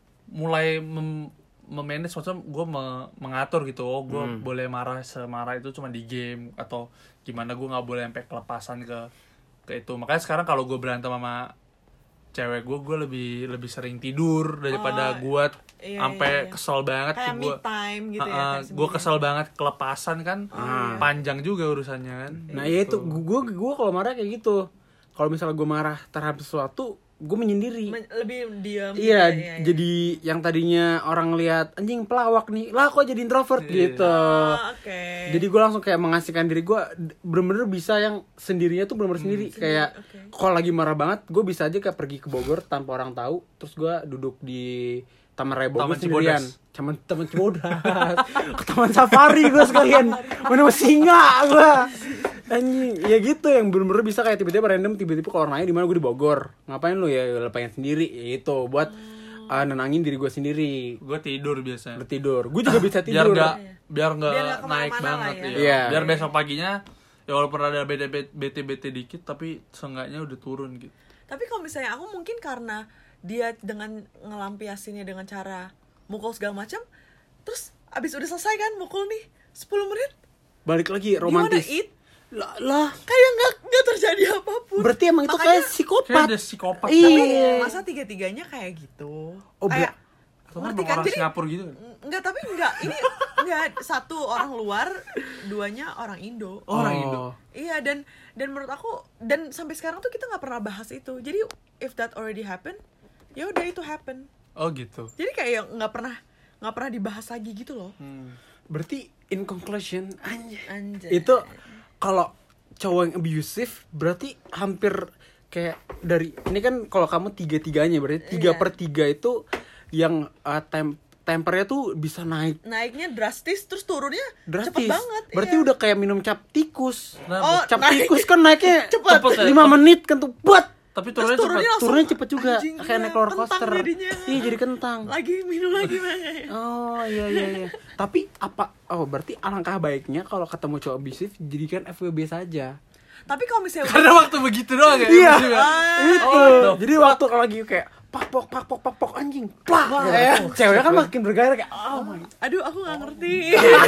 mulai mem- memanage, maksudnya gue me- mengatur gitu. Oh gue Hmm. boleh marah semarah itu cuma di game atau gimana, gue nggak boleh sampai kelepasan ke ke itu. Makanya sekarang kalau gue berantem sama cewek gue, gue lebih lebih sering tidur daripada Oh, gue iya, sampai iya, iya. kesel banget. Kayak me Gue time gitu ya. kayak gue sendiri. kesel banget kelepasan kan, Ah. panjang juga urusannya kan. Nah ya itu gue gue kalau marah kayak gitu. Kalau misalnya gue marah terhadap sesuatu, gue menyendiri. Men- lebih diam. Iya, gitu ya, iya, iya. jadi yang tadinya orang lihat anjing pelawak nih, lah kok jadi introvert Iya. gitu. Oh, oke. Jadi gue langsung kayak mengasihkan diri gue, bener-bener bisa yang sendirinya tuh bener-bener sendiri. Kayak oke. kalau lagi marah banget, gue bisa aja kayak pergi ke Bogor tanpa orang tahu, terus gue duduk di Taman Raya Bogor Taman sendirian. Cibodas. Taman Taman Cibodas. Ke Taman Safari gue sekalian. Mana mau singa gue. Anjing, ya gitu yang bener-bener bisa kayak tiba-tiba random tiba-tiba kalau nanya di mana, gue di Bogor. Ngapain lu ya? Ya pengen sendiri. Ya itu buat uh, nenangin diri gue sendiri. Gue tidur biasanya. Udah tidur. Gue juga bisa Biar tidur. nggak biar nggak Biar nggak naik kemana-mana lah banget ya. ya. Iya. Biar besok paginya ya walaupun ada bete bete bete dikit tapi seenggaknya udah turun gitu. Tapi kalau misalnya aku mungkin karena dia dengan ngelampiasinnya dengan cara mukul segala macam, terus abis udah selesai kan mukul nih sepuluh menit, Balik lagi romantis. gimana it? Lah, lah. Kayak nggak nggak terjadi apapun. Berarti emang itu Makanya- kayak Kayak psikopat. ada psikopat. Iya. Tapi masa tiga-tiganya kayak gitu? Oh, kayak Atau kan ngerti kan? orang Jadi Singapura gitu kan. enggak, tapi enggak, ini enggak satu orang luar, duanya orang Indo. Oh, orang Oh. Indo. Iya, dan dan menurut aku, dan sampai sekarang tuh kita nggak pernah bahas itu. Jadi if that already happen, ya udah itu happen. Oh gitu. Jadi kayak nggak pernah nggak pernah dibahas lagi gitu loh. Hmm. Berarti in conclusion anjay. Anjay. Itu kalau cowok yang abusive berarti hampir kayak dari ini kan kalau kamu tiga-tiganya berarti tiga Iya. per tiga itu yang uh, tem tempernya tuh bisa naik Naiknya drastis, terus turunnya drastis. cepet banget. Berarti iya. udah kayak minum cap tikus. Nah, Oh, Cap naik. tikus kan naiknya Cepet. Cepet ya? lima menit kan tuh buat. tapi Terus turunnya turunnya cepat. langsung Turunnya cepet juga anjing, kayak iya, naik roller kentang coaster. jadinya. Iya jadi kentang. Lagi minum lagi banget. Oh iya iya iya. Tapi apa? Oh berarti alangkah baiknya kalau ketemu cowok abusive jadikan F W B saja. Tapi kalau misalnya Karena waktu begitu doang ya. Iya. juga. Itu. Oh, Jadi waktu kalau lagi kayak pak pok pak pok pak pok anjing. Plak. Ya. Cewek kan makin bergairah kayak oh my. aduh aku nggak ngerti.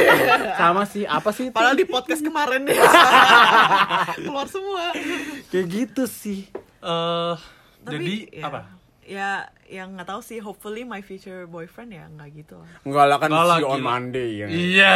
Sama sih apa sih? itu? Padahal di podcast kemarin deh keluar semua. Kayak gitu sih. Eh, Tapi, jadi ya, apa? Ya yang nggak tahu sih. Hopefully my future boyfriend ya nggak gitu lah. Enggak lah kan Nggak see lagi. on Monday ya. Iya.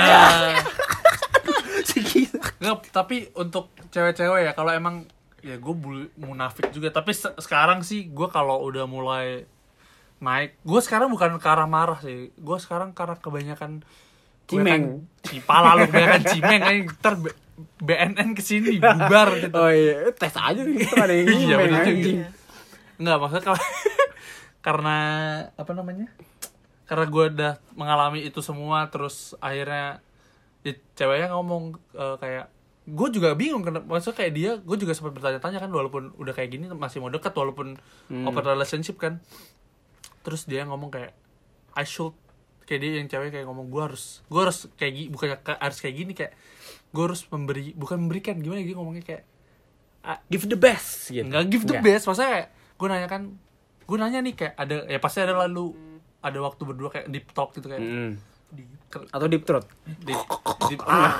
Segitu. Nggak, tapi untuk cewek-cewek ya kalau emang ya gue munafik juga, tapi se- sekarang sih gue kalau udah mulai naik. Gue sekarang bukan ke arah marah sih. Gue sekarang karena kebanyakan Cimeng. Cipala lu kebanyakan cimeng kan ntar B- BNN kesini bubar gitu. Oh iya, tes aja nih itu ada yang Iya, ngomong bener anjing. juga. Enggak, maksudnya kalau karena apa namanya? Karena gue udah mengalami itu semua, terus akhirnya ya, ceweknya ngomong uh, kayak gue juga bingung kenapa, maksudnya kayak dia, gue juga sempat bertanya-tanya kan, walaupun udah kayak gini masih mau dekat walaupun Hmm. open relationship kan. Terus dia ngomong kayak I should, kayak dia yang cewek kayak ngomong gue harus gue harus kayak gini, bukannya ka- harus kayak gini, kayak gue harus memberi, bukan memberikan, gimana dia ngomongnya kayak Give the best gitu. nggak give the Nggak. best, maksudnya kayak gue nanya kan, gue nanya nih kayak ada ya pasti ada lalu ada waktu berdua kayak deep talk gitu kayak Mm. di, Atau deep throat. di, di, ah,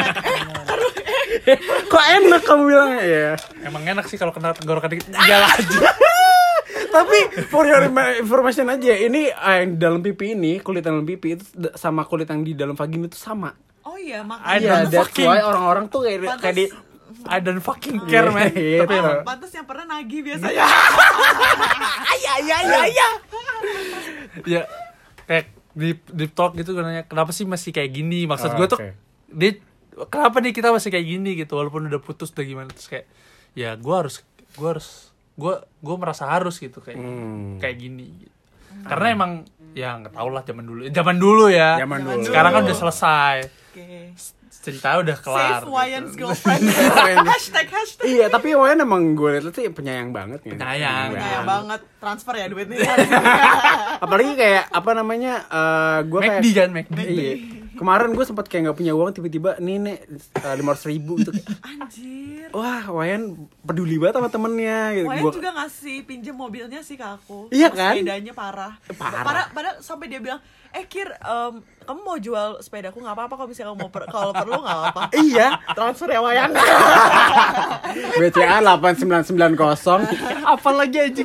Kok enak kamu bilangnya ya? emang enak sih kalau kena tenggorokan dikit tinggal aja. Tapi for your information aja, ini eh, yang di dalam pipi ini, kulit dalam pipi itu d- sama kulit yang di dalam vagina itu sama. Oh iya, I makanya. Iya, don't that's fucking- why orang-orang tuh kayak Pantes- kayak di I don't fucking care man. Iya, Tapi gitu. emang Pantes yang pernah nagih biasanya. Iya iya iya iya. ya kayak deep deep talk gitu, gue nanya kenapa sih masih kayak gini, maksud Oh, gue tuh oke. dia kenapa nih kita masih kayak gini gitu walaupun udah putus udah gimana, terus kayak ya gue harus gue harus gue gue merasa harus gitu kayak Hmm. kayak gini gitu. Karena emang ya nggak tau lah zaman dulu zaman dulu ya Zaman dulu. sekarang kan udah selesai, Oke. ceritanya udah kelar Save Wayan's gitu. girlfriend. hashtag hashtag. Iya, tapi Wayan emang gue liat sih penyayang banget gitu. Penyayang. Kayak banget transfer ya duitnya. Apalagi kayak apa namanya? eh gue kayak McD kan McD. Iya. Kemarin gue sempat kayak nggak punya uang, tiba-tiba nih nih lima ratus ribu gitu. Anjir. Wah, Wayan peduli banget sama temennya gitu. Wayan Gua- juga ngasih pinjem mobilnya sih ke aku. Iya Terus kan? Sepedanya parah. Parah. Parah. Padahal sampai dia bilang, eh Kir, em, kamu mau jual sepedaku nggak apa-apa kalau misalnya kamu mau per- kalau perlu nggak apa-apa. Iya. Transfer ya Wayan. B C A delapan sembilan sembilan nol. Apalagi aja.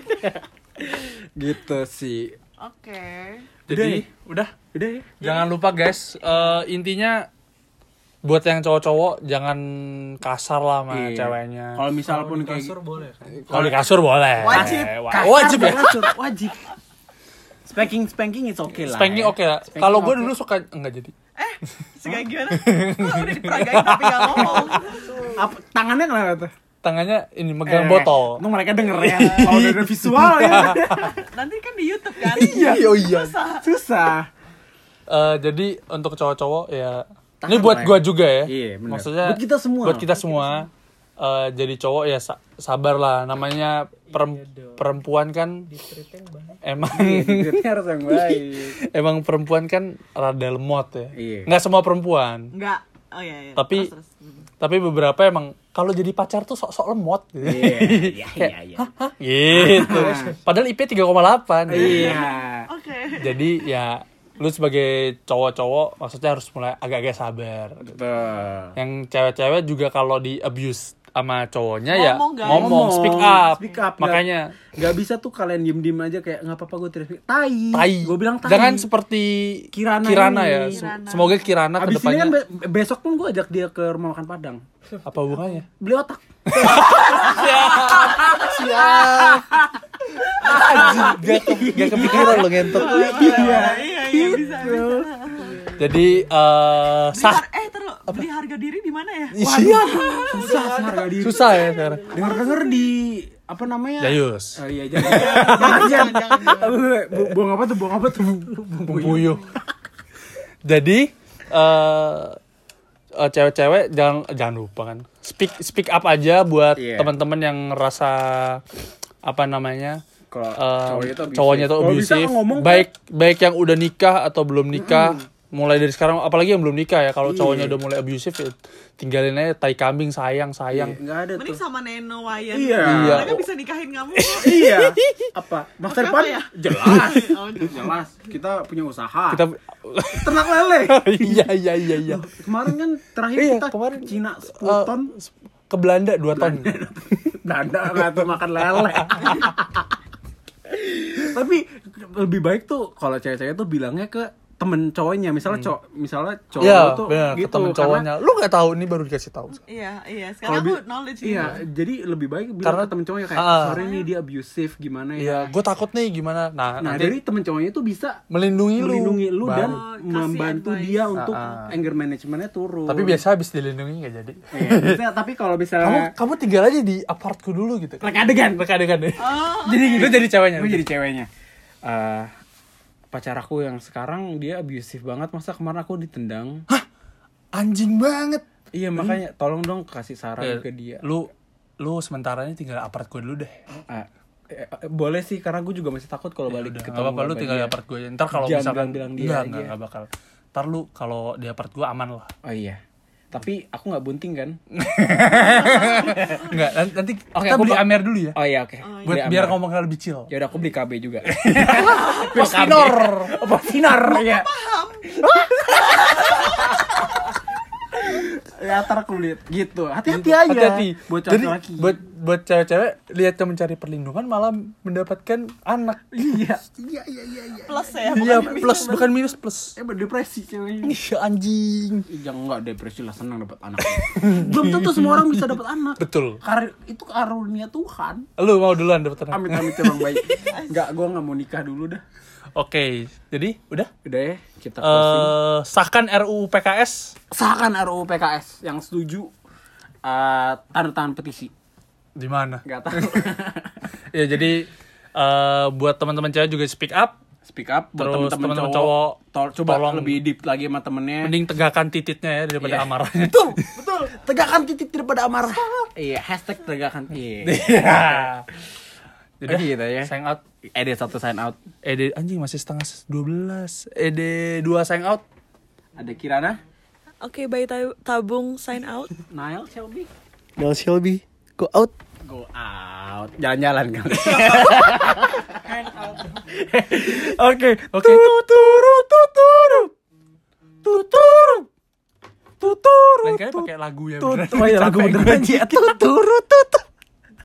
Gitu sih. Oke. Jadi udah Udah ya. jangan lupa guys, eh, intinya buat yang cowok-cowok jangan kasar lah sama Iya. ceweknya. Kalau misal pun di kayak kasur boleh kan? Kalau di kasur boleh. Wajib. Wa- Kasar, Wajib ya. kasar, wajib. Spanking spanking it's okay lah. Spanking ya. oke lah. Spanking Kalau gue oke. dulu suka enggak jadi. Eh, segala gimana? Lo udah diperagain tapi nggak ngomong. Apa, tangannya kenapa tuh? Tangannya ini megang Eh, botol. Itu mereka denger ya. Kalau udah ada visual ya. Nanti kan di YouTube kan. Iya, oh iya. Susah. Susah. Eh, jadi untuk cowok-cowok ya Tahan ini buat lah ya. gue juga ya. Iya, benar. Maksudnya Buat kita semua. Buat kita semua. eh, jadi cowok ya sa- sabar lah, namanya perem- perempuan kan emang Itu harus yang baik. emang perempuan kan rada lemot ya. Iya. Nggak semua perempuan. Enggak. Oh iya, iya. Tapi- Terus, terus. Hmm. Tapi beberapa emang kalau jadi pacar tuh sok-sok lemot gitu. Iya, iya, iya, iya. Hah? Gitu. Padahal I P tiga koma delapan. Iya. Oke. Jadi ya lu sebagai cowok-cowok maksudnya harus mulai agak-agak sabar. Betul. Yang cewek-cewek juga kalau di abuse sama cowoknya ya Ngomong, guys. ngomong, speak up. Speak up. Makanya Gak bisa tuh kalian diem-diem aja kayak nggak apa-apa gue teriak. Tai. tai. Gue bilang tai. Jangan seperti Kirana Kirana ini. ya. Kirana. Semoga Kirana Abis ini kedepannya kan be- besok pun gue ajak dia ke rumah makan Padang. apa hubungannya? Beli otak. Siap. Gak, ke- gak kepikiran lo ngentot. Iya, iya, iya, bisa, bisa. Jadi eh Beli sah har- eh, terus beli harga diri di mana ya? Iya. Susah harga diri. Susah ya sekarang. Dengar-dengar di apa namanya? Jayus. Oh iya, jangan. jangan, jangan, jangan, jangan. Bu- Buang apa tuh? Buang apa tuh? Puyuh. Jadi eh eh, cewek-cewek jangan jangan lupa kan. Speak speak up aja buat Iya. teman-teman yang ngerasa apa namanya? Kalau eh, cowoknya tuh abusive. cowoknya tuh Kalau bisa abusive. ngomong kan. baik baik yang udah nikah atau belum nikah. Mulai dari sekarang, apalagi yang belum nikah ya. Kalau Iya. cowoknya udah mulai abusive ya tinggalin aja, tai kambing, sayang sayang. Enggak ada Mending tuh. sama Neno Wayan. Iya. Iya. Mereka bisa nikahin kamu. Iya. Apa? Masa Pakai depan? apa ya? Jelas. Oh, jelas. Jelas. Kita punya usaha. Kita ternak lele. iya iya iya iya. Kemarin kan terakhir Iya, kita kemarin. ke Cina sepuluh Eh, ton. ke Belanda dua ton. Dada nggak tuh makan lele. Tapi lebih baik tuh kalau cewek-cewek tuh bilangnya ke temen cowoknya, misalnya cowok, misalnya cowok Iya, lu tuh bener, gitu. temen cowoknya. Lu nggak tahu, ini baru dikasih tahu. Iya, iya. Kalau Sekarang aku bi- knowledge iya, gitu. jadi lebih baik bilang Karena- ke temen cowoknya kayak, Ah. sorry nih dia abusive gimana ya. Iya, gue takut nih gimana. Nah, Nah, nanti jadi temen cowoknya tuh bisa melindungi lu. melindungi lu dan Oh, kasih membantu advice. dia untuk Ah, ah. anger managementnya turun. Tapi biasa habis dilindungi nggak jadi. Iya, biasanya, tapi kalau Kamu misalnya kamu tinggal aja di apartku dulu gitu. reka adegan, Reka adegan deh. Oh, Jadi gitu jadi ceweknya. gue jadi ceweknya. Eh, pacar aku yang sekarang dia abusive banget, masa kemarin aku ditendang. Anjing banget. Iya, makanya tolong dong kasih saran Eh, ke dia. Lu lu sementara ini tinggal apart gue dulu deh. Ah, eh, eh, boleh sih, karena gue juga masih takut kalau balik Udah, ketemu nggak apa-apa lu sama tinggal di dia. apart gue. Ntar kalau Jangan misalkan bilang-bilang dia enggak, aja. enggak, enggak bakal. Ntar lu kalau di apart gue aman lah. Oh iya, tapi aku nggak bunting kan? Enggak, nanti Oke, kita aku beli ba- Amer dulu ya. Oh iya, oke. Oh, iya. Buat Beli biar Amer. ngomongnya lebih chill. Ya udah, aku beli K B juga. Posinor. Posinor ya. Ya ntar aku lihat gitu. Hati-hati aja. Hati-hati. Buat Jadi laki. buat buat cewek-cewek lihat yang mencari perlindungan malah mendapatkan anak. Iya. Iya iya iya iya. plus ya. Iya, bukan plus minus. bukan minus plus. Eh berdepresi ceweknya. Iya anjing. Ih, jangan enggak depresi lah, senang dapat anak. Belum tentu semua orang bisa dapat anak. Betul. Kar itu karunia Tuhan. Lu mau duluan dapat anak. Amit amit emang baik. Enggak, gua enggak mau nikah dulu dah. Oke, jadi udah. Udah ya, kita closing. Eh sahkan R U U P K S Sahkan R U U P K S yang setuju eh, tanda tangan petisi. di mana? Enggak tahu. Ya jadi eh buat teman-teman cewek juga speak up. Speak up buat Terus teman-teman teman-teman cowok, cowok, tol- coba tolong lebih deep lagi sama temennya. Mending tegakkan tititnya ya daripada Iya. amarahnya. Betul, betul. Tegakkan titik daripada amarah. Iya, hashtag tegakkan. Iya. Iya. Udah, Oke, gitu ya. sign out. E D satu sign out. E D anjing masih setengah dua belas. E D dua sign out. Ada Kirana, Oke, bayi tab- tabung sign out. Nail, Shelby. Del Shelby, go out. Go out. Jalan-jalan kali. Oke, oke. Tuturu tuturu. Tuturu. Tuturu. Lain kali pakai lagu ya beneran. Oh iya, lagu beneran. Tuturu tuturu.